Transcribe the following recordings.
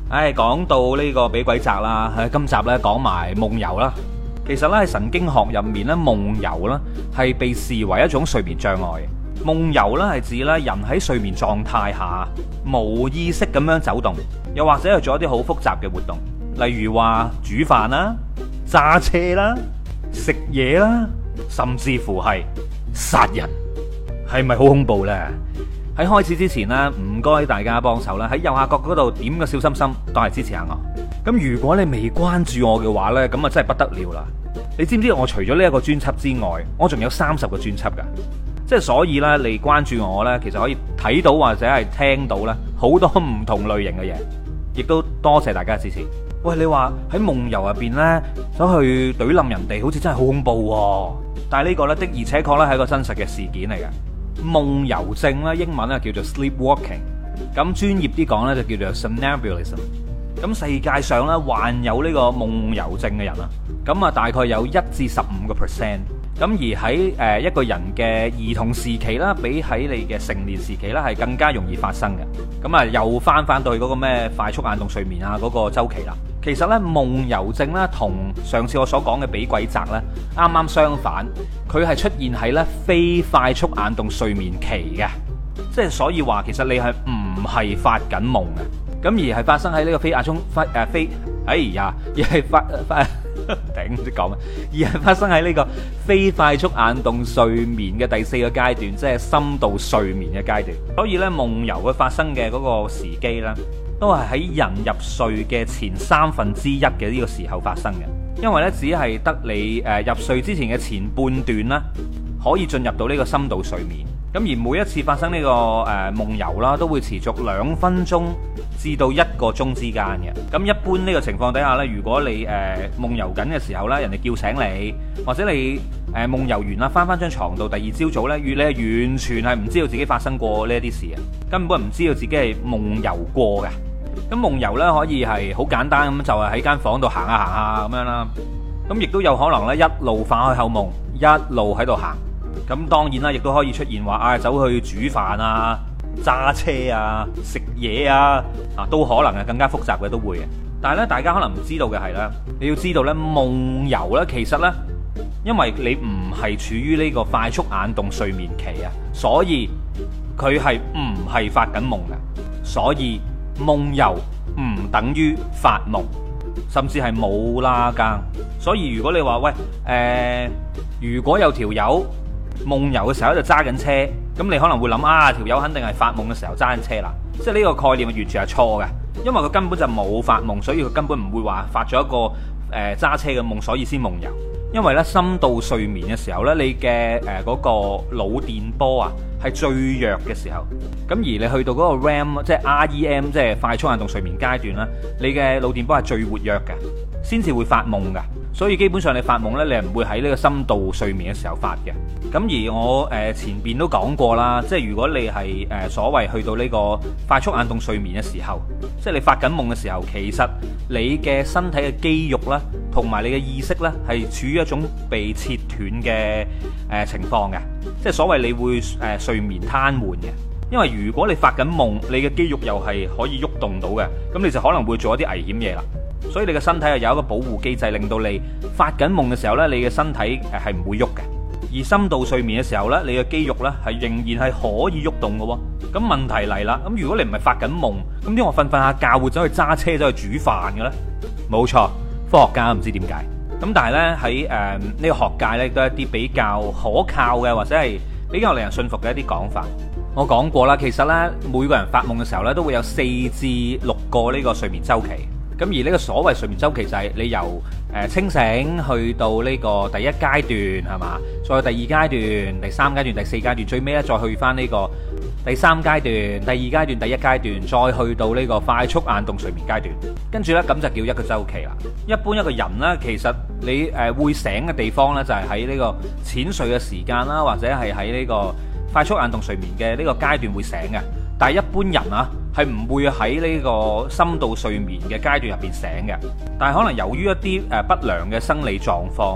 講到呢個俾鬼責啦，今集呢講埋夢遊啦。其實呢喺神經學入面呢，夢遊呢係被視為一種睡眠障礙。夢遊呢係指呢人喺睡眠狀態下無意識咁樣走動，又或者係做一啲好複雜嘅活動，例如話煮飯啦、揸車啦、食嘢啦，甚至乎係殺人，係咪好恐怖呢？喺開始之前呢，唔該大家幫手啦，喺右下角嗰度點個小心心，當係支持下我。咁如果你未關注我嘅話呢，咁啊真係不得了啦！你知唔知我除咗呢一個專輯之外，我仲有30個專輯噶？即係所以呢，你關注我呢，其實可以睇到或者係聽到呢好多唔同類型嘅嘢，亦都多謝大家嘅支持。喂，你話喺夢遊入邊呢，走去懟冧人哋，好似真係好恐怖喎！但係呢個呢，的而且確呢係一個真實嘅事件嚟嘅。夢遊症咧，英文咧叫做 sleepwalking， 咁專業啲講咧就叫做 somnambulism。咁世界上咧患有呢個夢遊症嘅人啊，咁啊大概有1至15%。咁而喺一個人嘅兒童時期啦，比喺你嘅成年時期咧係更加容易發生嘅。咁啊又翻到去嗰個咩快速眼動睡眠啊嗰個週期啦。其實咧夢遊症咧同上次我所講嘅俾鬼責咧啱啱相反，佢係出現喺咧非快速眼動睡眠期嘅，即係所以話其實你係唔係發緊夢嘅，咁而係發生喺呢個非頂唔知講咩，而係發生喺呢個非快速眼動睡眠嘅第4個階段，即係深度睡眠嘅階段。所以咧夢遊嘅發生嘅嗰個時機咧，都係喺人入睡嘅前1/3嘅呢個時候發生嘅。因為咧只係得你入睡之前嘅前半段啦，可以進入到呢個深度睡眠。咁而每一次發生呢個夢遊啦，都會持續2分鐘至到1個鐘之間嘅。咁一般呢個情況底下呢，如果你夢遊緊嘅時候呢，人哋叫醒你，或者你夢遊完啦，翻張床度，第二朝早呢，你係完全係唔知道自己發生過呢啲事嘅，根本唔知道自己係夢遊過嘅。咁夢遊呢，可以係好簡單咁，就係喺間房度行下咁樣啦。咁亦都有可能呢，一路發開口夢，一路喺度行。咁當然啦，亦都可以出現話走去煮飯啊、揸車啊、食嘢啊，都可能係更加複雜嘅都會嘅。但係咧，大家可能唔知道嘅係咧，你要知道咧，夢遊咧其實咧，因為你唔係處於呢個快速眼動睡眠期啊，所以佢係唔係發緊夢嘅。所以夢遊唔等於發夢，甚至係冇拉更。所以如果你話喂，如果有條友夢遊嘅時候就揸緊車，咁你可能會諗條友肯定係發夢嘅時候揸緊車啦，即係呢個概念完全係錯嘅，因為佢根本就冇發夢，所以佢根本唔會話發咗一個揸車嘅夢，所以先夢遊。因為咧深度睡眠嘅時候咧，你嘅嗰個腦電波啊係最弱嘅時候，咁而你去到嗰個 REM 即係 REM 即係快速眼動睡眠階段啦，你嘅腦電波係最活躍嘅，先至會發夢噶。所以基本上你發夢呢，你係唔會喺呢個深度睡眠嘅時候發嘅。咁而我前邊都講過啦，即係如果你係所謂去到呢個快速眼動睡眠嘅時候，即係你發緊夢嘅時候，其實你嘅身體嘅肌肉啦，同埋你嘅意識呢，係處於一種被切斷嘅情況嘅，即係所謂你會睡眠癱瘓嘅。因為如果你發緊夢，你嘅肌肉又係可以喐動到嘅，咁你就可能會做一啲危險嘢啦。所以你嘅身體係有一個保護機制，令到你發緊夢嘅時候呢，你嘅身體係唔會喐嘅。而深度睡眠嘅時候呢，你嘅肌肉呢係仍然係可以喐動嘅喎。咁問題嚟啦，咁如果你唔係發緊夢，咁點我瞓下覺會走去揸車走去煮飯嘅咧？冇錯，科學家唔知點解。咁但係呢，喺呢個學界呢，都係一啲比較可靠嘅，或者係比較令人信服嘅一啲講法。我講過啦，其實呢，每個人發夢嘅時候呢，都會有4至6個呢個睡眠週期。咁而呢個所謂睡眠週期就係你由清醒去到呢個第一階段係嘛，再第二階段、第三階段、第四階段，最尾咧再去翻呢個第三階段、第二階段、第一階段，再去到呢個快速眼動睡眠階段，跟住呢，咁就叫一個週期啦。一般一個人呢，其實你會醒嘅地方呢，就係喺呢個淺睡嘅時間啦，或者係喺呢個快速眼動睡眠嘅呢個階段會醒嘅。但係一般人啊，係唔會喺呢個深度睡眠嘅階段入邊醒嘅。但係可能由於一啲不良嘅生理狀況啦，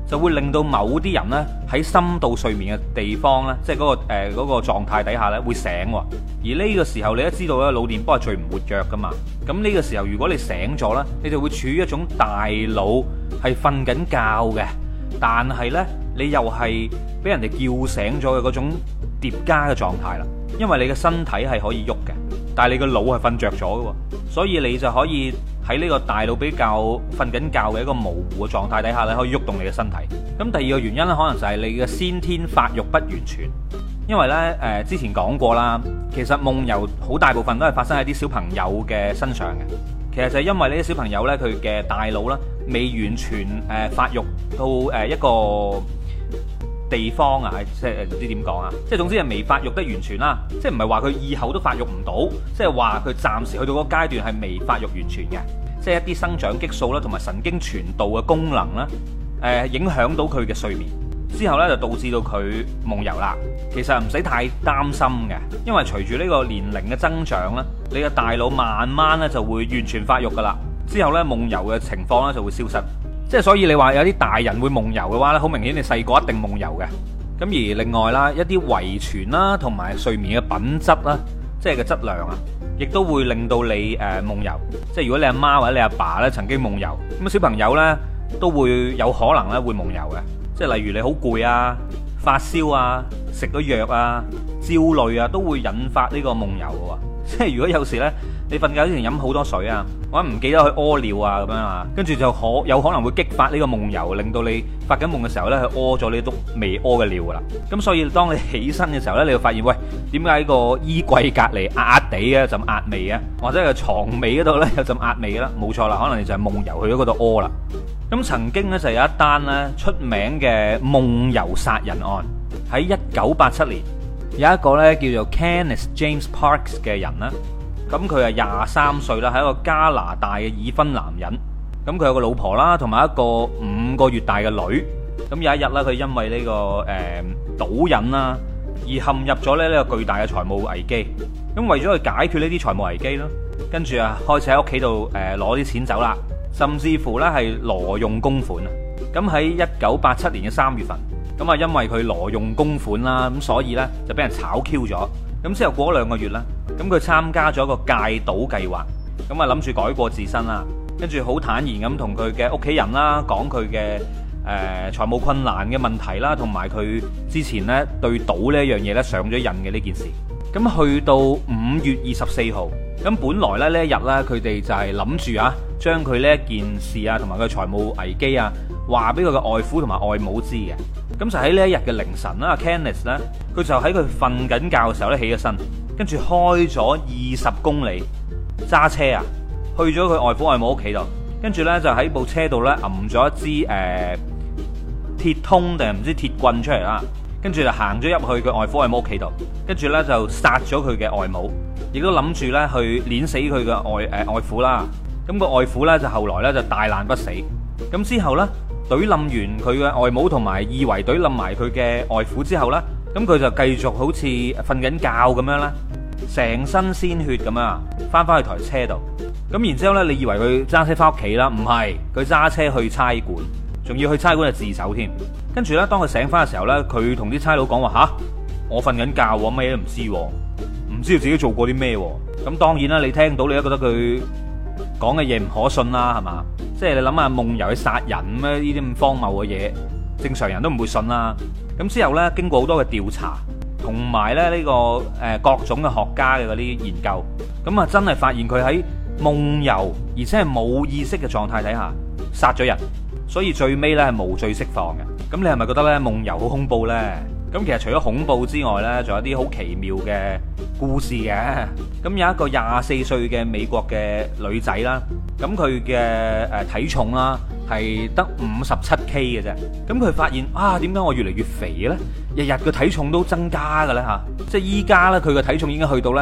就會令到某啲人呢喺深度睡眠嘅地方呢，即係嗰個狀態底下呢會醒。而呢個時候你都知道咧，腦電波係最唔活躍噶嘛。咁呢個時候如果你醒咗呢，你就會處於一種大腦係瞓緊覺嘅，但係呢，你又係俾人哋叫醒咗嘅嗰種疊加嘅狀態啦。因為你嘅身體係可以喐嘅，但係你個腦係瞓着咗嘅，所以你就可以喺呢個大腦比較瞓緊覺嘅一個模糊嘅狀態底下咧，可以喐動你嘅身體。咁第二個原因咧，可能就係你嘅先天發育不完全。因為咧之前講過啦，其實夢遊好大部分都係發生喺啲小朋友嘅身上嘅。其實就係因為呢啲小朋友咧，佢嘅大腦咧未完全發育到一個地方啊，即係唔知點講啊，即係總之係未發育得完全啦，即係唔係話佢以後都發育唔到，即係話佢暫時去到嗰個階段係未發育完全嘅，即係一啲生長激素啦同埋神經傳導嘅功能啦，影響到佢嘅睡眠之後呢，就導致到佢夢遊啦。其實唔使太擔心嘅，因為隨住呢個年齡嘅增長呢，你嘅大腦慢慢呢就會完全發育噶啦，之後呢，夢遊嘅情況呢就會消失。即係所以你話有啲大人會夢遊嘅話咧，好明顯你細個一定夢遊嘅。咁而另外啦，一啲遺傳啦，同埋睡眠嘅品質啦，即係個質量啊，亦都會令到你夢遊。即係如果你阿媽或者你阿爸咧曾經夢遊，咁小朋友咧都會有可能咧會夢遊嘅。即係例如你好攰啊、發燒啊、食咗藥啊、焦慮啊，都會引發呢個夢遊嘅喎。即係如果有時咧，你瞓覺之前飲好多水啊，或者唔記得去屙尿啊咁樣啊，跟住就有可能會激發呢個夢遊，令到你發緊夢嘅時候呢，去屙咗呢篤未屙嘅尿噶啦。咁所以當你起身嘅時候呢，你就發現喂，點解個衣櫃隔離壓地嘅陣壓味啊，或者係床尾嗰度呢，有陣壓味啦？冇錯啦，可能你就係夢遊去咗嗰度屙啦。咁曾經呢，就有一單呢出名嘅夢遊殺人案，喺1987年有一個呢叫做 Kenneth James Parks 嘅人呢。咁佢係23歲啦，係一個加拿大嘅已婚男人。咁佢有個老婆啦，同埋一個5個月大嘅女。咁有一日咧，佢因為呢個賭癮啦，而陷入咗咧呢個巨大嘅財務危機。咁為咗去解決呢啲財務危機咯，跟住啊開始喺屋企度攞啲錢走啦，甚至乎咧係挪用公款啊。咁喺1987年嘅3月份，咁啊因為佢挪用公款啦，咁所以咧就俾人炒 Q 咗。咁之後過咗2個月啦，咁佢參加咗一個戒賭計劃，咁啊諗住改過自身啦，跟住好坦然咁同佢嘅屋企人啦講佢嘅財務困難嘅問題啦，同埋佢之前呢對賭呢一樣嘢呢上咗癮嘅呢件事。咁去到5月24號，咁本來咧呢一日呢，佢哋就係諗住啊將佢呢一件事啊同埋佢財務危機啊話俾佢嘅外父同埋外母知嘅。咁就喺呢一日嘅凌晨啦 ，Kenneth 咧，佢就喺佢瞓緊覺嘅時候咧起咗身，跟住開咗20公里揸車啊，去咗佢外父外母屋企度，跟住咧就喺部車度咧揞咗一支鐵通定係唔知鐵棍出嚟啦，跟住就行咗入去佢外父外母屋企度，跟住咧就殺咗佢嘅外母，亦都諗住咧去碾死佢嘅外父啦。咁個外父咧就後來咧就大難不死，咁之後咧。懟冧完佢嘅外母同埋以為懟冧埋佢嘅外父之後呢，咁佢就繼續好似瞓緊覺咁樣啦，成身鮮血咁樣翻返去台車度。咁然之後呢，你以為佢揸車翻屋企啦？唔係，佢揸車去差館，仲要去差館就自首添。跟住呢，當佢醒翻嘅時候呢，佢同啲差佬講話吓，我瞓緊覺喎，乜嘢都唔知，唔知道自己做過啲咩。咁當然啦，你聽到你都覺得佢講嘅嘢唔可信啦，係嘛？即係你諗下夢遊去殺人咩？呢啲咁荒謬嘅嘢，正常人都唔會信啦。咁之後呢，經過好多嘅調查，同埋咧呢個各種嘅學家嘅嗰啲研究，咁啊真係發現佢喺夢遊而且係冇意識嘅狀態底下殺咗人，所以最尾呢係無罪釋放嘅。咁你係咪覺得呢夢遊好恐怖呢？咁其實除咗恐怖之外呢，仲有啲好奇妙嘅故事嘅。咁有一個24歲嘅美國嘅女仔啦，咁佢嘅體重啦係得57K 嘅啫。咁佢發現啊，點解我越嚟越肥嘅咧？日日嘅體重都增加嘅咧嚇，即係依家呢，佢嘅體重已經去到呢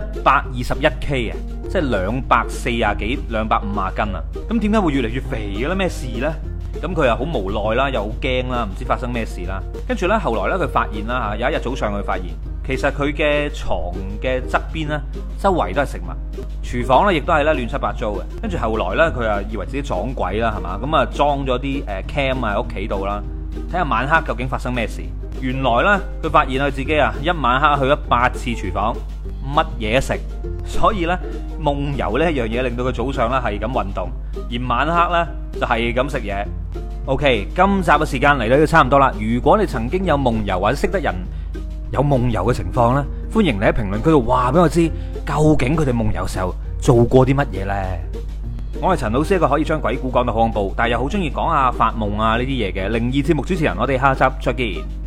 121K 啊，即係240幾250斤啦。咁點解會越嚟越肥嘅咧？咩事呢？咁佢又好無奈啦，又好驚啦，唔知發生咩事啦。跟住呢，後來呢，佢發現啦嚇，有一日早上佢發現，其實佢嘅床嘅側邊呢，周圍都係食物，廚房呢亦都係咧亂七八糟嘅。跟住後來呢，佢又以為自己撞鬼啦，係嘛？咁啊裝咗啲cam 喺屋企度啦， 睇下晚黑究竟發生咩事。原來呢，佢發現佢自己啊，一晚黑去咗8次廚房，乜嘢食。所以呢，夢遊呢一樣嘢令到佢早上呢係咁運動，而晚黑呢就係咁食嘢。OK， 今集嘅時間嚟到都差唔多啦。如果你曾經有夢遊或者識得人有夢遊嘅情況呢，歡迎你喺評論區度話俾我知，究竟佢哋夢遊時候做過啲乜嘢呢？我係陳老師，一個可以將鬼故講到好恐怖，但係又好中意講下發夢啊呢啲嘢嘅靈異節目主持人。我哋下集再見。